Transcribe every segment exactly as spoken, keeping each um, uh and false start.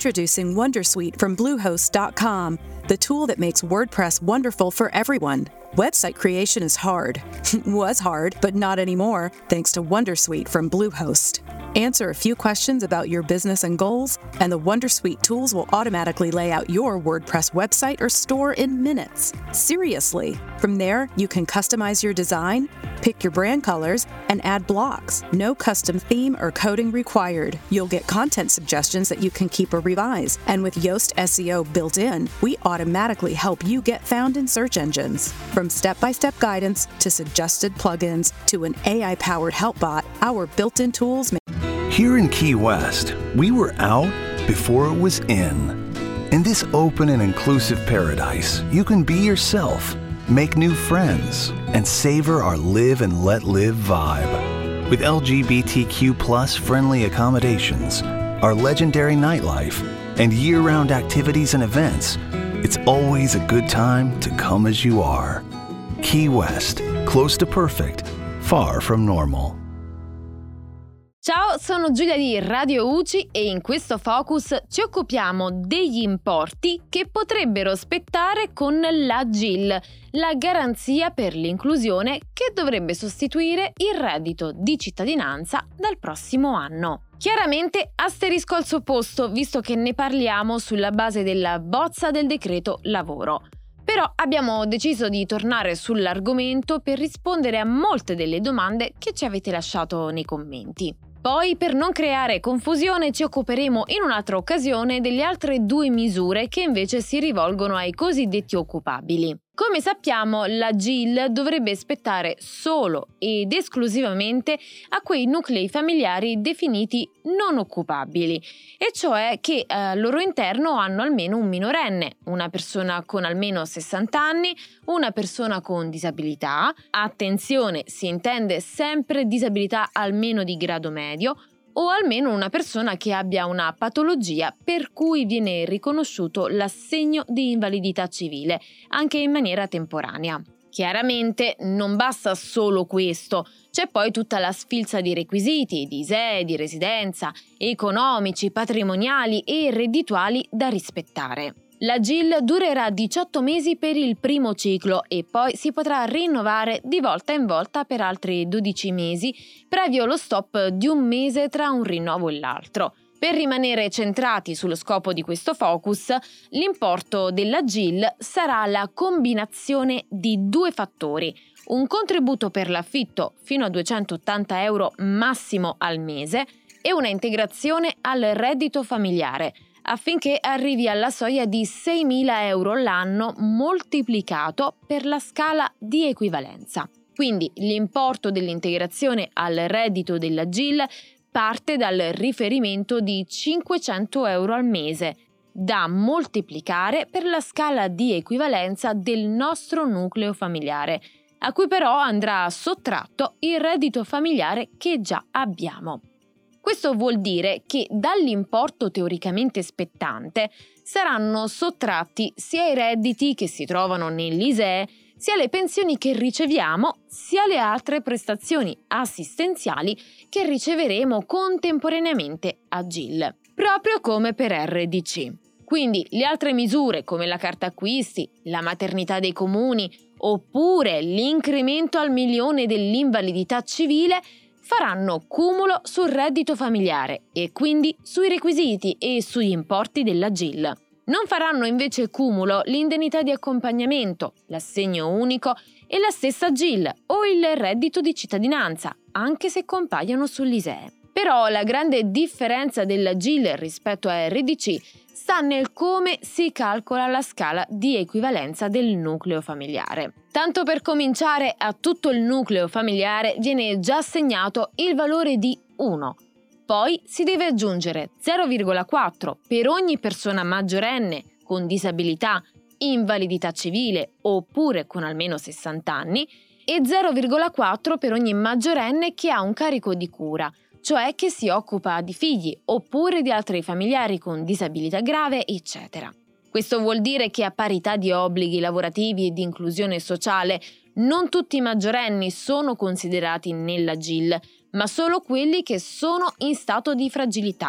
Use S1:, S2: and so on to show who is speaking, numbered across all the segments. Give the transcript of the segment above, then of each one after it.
S1: Introducing Wondersuite from Bluehost dot com, the tool that makes WordPress wonderful for everyone. Website creation is hard. Was hard, but not anymore, thanks to Wondersuite from Bluehost. Answer a few questions about your business and goals, and the Wondersuite tools will automatically lay out your WordPress website or store in minutes. Seriously. From there, you can customize your design, pick your brand colors, and add blocks. No custom theme or coding required. You'll get content suggestions that you can keep or revise. And with Yoast S E O built in, we automatically help you get found in search engines. From step-by-step guidance to suggested plugins to an A I-powered help bot, our built-in tools make
S2: Here in Key West, we were out before it was in. In this open and inclusive paradise, you can be yourself, make new friends, and savor our live and let live vibe. With L G B T Q plus friendly accommodations, our legendary nightlife, and year-round activities and events, it's always a good time to come as you are. Key West, close to perfect, far from normal.
S3: Ciao, sono Giulia di Radio U C I e in questo focus ci occupiamo degli importi che potrebbero spettare con l'A G I L, la garanzia per l'inclusione che dovrebbe sostituire il reddito di cittadinanza dal prossimo anno. Chiaramente asterisco al suo posto, visto che ne parliamo sulla base della bozza del decreto lavoro. Però abbiamo deciso di tornare sull'argomento per rispondere a molte delle domande che ci avete lasciato nei commenti. Poi, per non creare confusione, ci occuperemo in un'altra occasione delle altre due misure che invece si rivolgono ai cosiddetti occupabili. Come sappiamo, l'A G I L dovrebbe spettare solo ed esclusivamente a quei nuclei familiari definiti non occupabili, e cioè che eh, al loro interno hanno almeno un minorenne, una persona con almeno sessanta anni, una persona con disabilità, attenzione, si intende sempre disabilità almeno di grado medio, o almeno una persona che abbia una patologia per cui viene riconosciuto l'assegno di invalidità civile, anche in maniera temporanea. Chiaramente non basta solo questo, c'è poi tutta la sfilza di requisiti, di I S E E, di residenza, economici, patrimoniali e reddituali da rispettare. L'A G I L durerà diciotto mesi per il primo ciclo e poi si potrà rinnovare di volta in volta per altri dodici mesi, previo lo stop di un mese tra un rinnovo e l'altro. Per rimanere centrati sullo scopo di questo focus, l'importo dell'A G I L sarà la combinazione di due fattori: un contributo per l'affitto fino a duecentottanta euro massimo al mese e una integrazione al reddito familiare, affinché arrivi alla soglia di seimila euro l'anno moltiplicato per la scala di equivalenza. Quindi l'importo dell'integrazione al reddito dell'A G I L parte dal riferimento di cinquecento euro al mese, da moltiplicare per la scala di equivalenza del nostro nucleo familiare, a cui però andrà sottratto il reddito familiare che già abbiamo. Questo vuol dire che dall'importo teoricamente spettante saranno sottratti sia i redditi che si trovano nell'I S E E, sia le pensioni che riceviamo, sia le altre prestazioni assistenziali che riceveremo contemporaneamente a G I L, proprio come per R D C. Quindi le altre misure come la carta acquisti, la maternità dei comuni oppure l'incremento al milione dell'invalidità civile faranno cumulo sul reddito familiare e quindi sui requisiti e sugli importi dell'A G I L. Non faranno invece cumulo l'indennità di accompagnamento, l'assegno unico e la stessa G I L o il reddito di cittadinanza, anche se compaiono sull'I S E E. Però la grande differenza dell'A G I L rispetto a R D C sta nel come si calcola la scala di equivalenza del nucleo familiare. Tanto per cominciare, a tutto il nucleo familiare viene già assegnato il valore di uno. Poi si deve aggiungere zero virgola quattro per ogni persona maggiorenne con disabilità, invalidità civile oppure con almeno sessanta anni e zero virgola quattro per ogni maggiorenne che ha un carico di cura, cioè che si occupa di figli oppure di altri familiari con disabilità grave, eccetera. Questo vuol dire che a parità di obblighi lavorativi e di inclusione sociale, non tutti i maggiorenni sono considerati nell'A G I L, ma solo quelli che sono in stato di fragilità,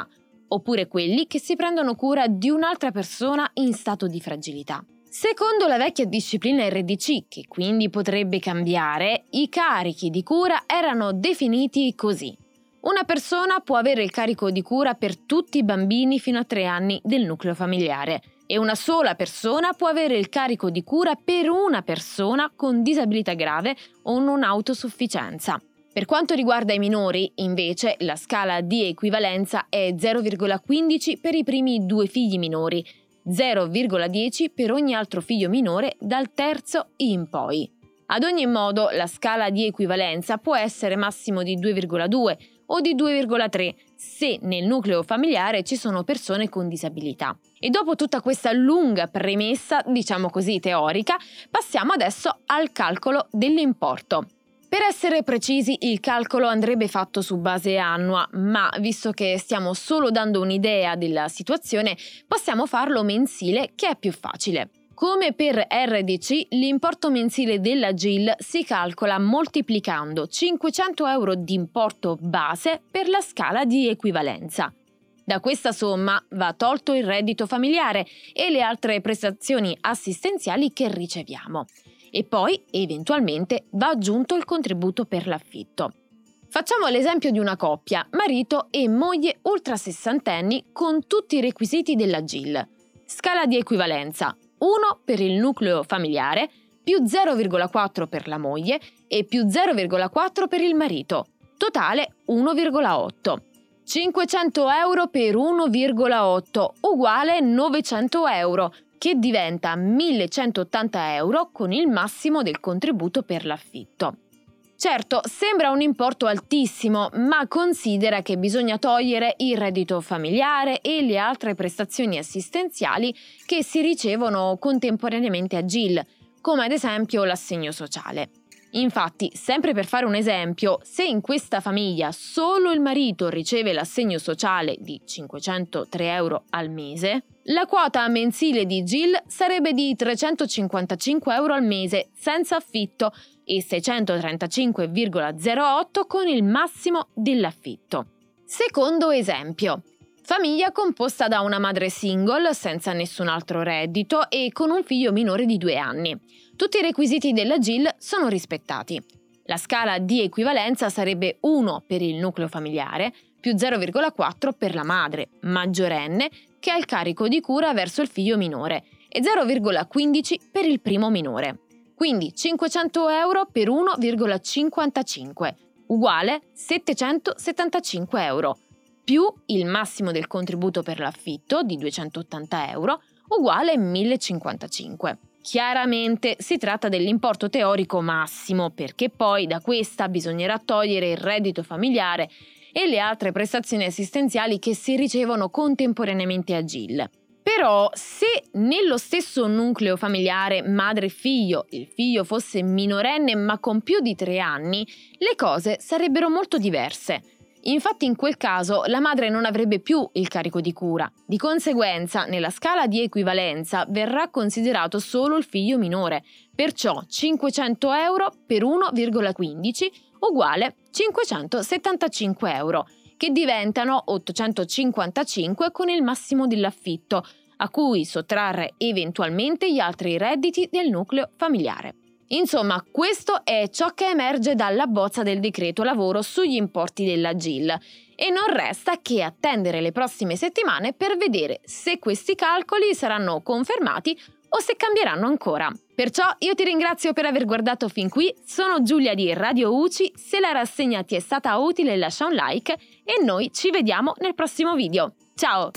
S3: oppure quelli che si prendono cura di un'altra persona in stato di fragilità. Secondo la vecchia disciplina R D C, che quindi potrebbe cambiare, i carichi di cura erano definiti così. Una persona può avere il carico di cura per tutti i bambini fino a tre anni del nucleo familiare e una sola persona può avere il carico di cura per una persona con disabilità grave o non autosufficienza. Per quanto riguarda i minori, invece, la scala di equivalenza è zero virgola quindici per i primi due figli minori, zero virgola dieci per ogni altro figlio minore dal terzo in poi. Ad ogni modo, la scala di equivalenza può essere massimo di due virgola due o di due virgola tre se nel nucleo familiare ci sono persone con disabilità. E dopo tutta questa lunga premessa, diciamo così teorica, passiamo adesso al calcolo dell'importo. Per essere precisi, il calcolo andrebbe fatto su base annua, ma visto che stiamo solo dando un'idea della situazione, possiamo farlo mensile, che è più facile. Come per R D C, l'importo mensile della G I L si calcola moltiplicando cinquecento euro di importo base per la scala di equivalenza. Da questa somma va tolto il reddito familiare e le altre prestazioni assistenziali che riceviamo. E poi, eventualmente, va aggiunto il contributo per l'affitto. Facciamo l'esempio di una coppia, marito e moglie ultrasessantenni con tutti i requisiti della G I L. Scala di equivalenza: uno per il nucleo familiare, più zero virgola quattro per la moglie e più zero virgola quattro per il marito. Totale uno virgola otto. cinquecento euro per uno virgola otto uguale novecento euro, che diventa millecentottanta euro con il massimo del contributo per l'affitto. Certo, sembra un importo altissimo, ma considera che bisogna togliere il reddito familiare e le altre prestazioni assistenziali che si ricevono contemporaneamente a G I L, come ad esempio l'assegno sociale. Infatti, sempre per fare un esempio, se in questa famiglia solo il marito riceve l'assegno sociale di cinquecentotre euro al mese, la quota mensile di G I L sarebbe di trecentocinquantacinque euro al mese senza affitto e seicentotrentacinque virgola zero otto con il massimo dell'affitto. Secondo esempio. Famiglia composta da una madre single senza nessun altro reddito e con un figlio minore di due anni. Tutti i requisiti della G I L sono rispettati. La scala di equivalenza sarebbe uno per il nucleo familiare, più zero virgola quattro per la madre, maggiorenne, che ha il carico di cura verso il figlio minore, e zero virgola quindici per il primo minore. Quindi cinquecento euro per uno virgola cinquantacinque, uguale settecentosettantacinque euro, più il massimo del contributo per l'affitto di duecentottanta euro, uguale millecinquantacinque. Chiaramente si tratta dell'importo teorico massimo, perché poi da questa bisognerà togliere il reddito familiare e le altre prestazioni assistenziali che si ricevono contemporaneamente a G I L. Però se nello stesso nucleo familiare madre e figlio il figlio fosse minorenne ma con più di tre anni, le cose sarebbero molto diverse. Infatti in quel caso la madre non avrebbe più il carico di cura. Di conseguenza, nella scala di equivalenza verrà considerato solo il figlio minore, perciò cinquecento euro per uno virgola quindici uguale cinquecentosettantacinque euro, che diventano ottocentocinquantacinque con il massimo dell'affitto, a cui sottrarre eventualmente gli altri redditi del nucleo familiare. Insomma, questo è ciò che emerge dalla bozza del decreto lavoro sugli importi della G I L e non resta che attendere le prossime settimane per vedere se questi calcoli saranno confermati o se cambieranno ancora. Perciò io ti ringrazio per aver guardato fin qui, sono Giulia di Radio U C I, se la rassegna ti è stata utile lascia un like e noi ci vediamo nel prossimo video. Ciao!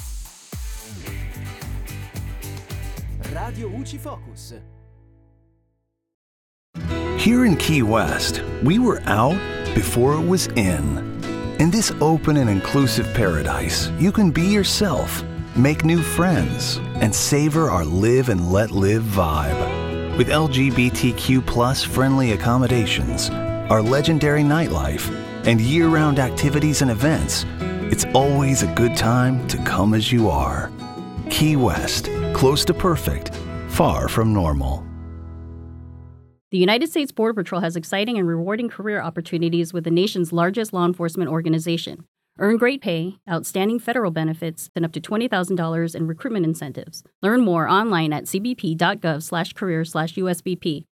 S4: Radio U C I Focus.
S2: Here in Key West, we were out before it was in. In this open and inclusive paradise, you can be yourself, make new friends, and savor our live and let live vibe. With L G B T Q plus friendly accommodations, our legendary nightlife, and year-round activities and events, it's always a good time to come as you are. Key West, close to perfect, far from normal.
S5: The United States Border Patrol has exciting and rewarding career opportunities with the nation's largest law enforcement organization. Earn great pay, outstanding federal benefits, and up to twenty thousand dollars in recruitment incentives. Learn more online at cbp.gov slash career slash USBP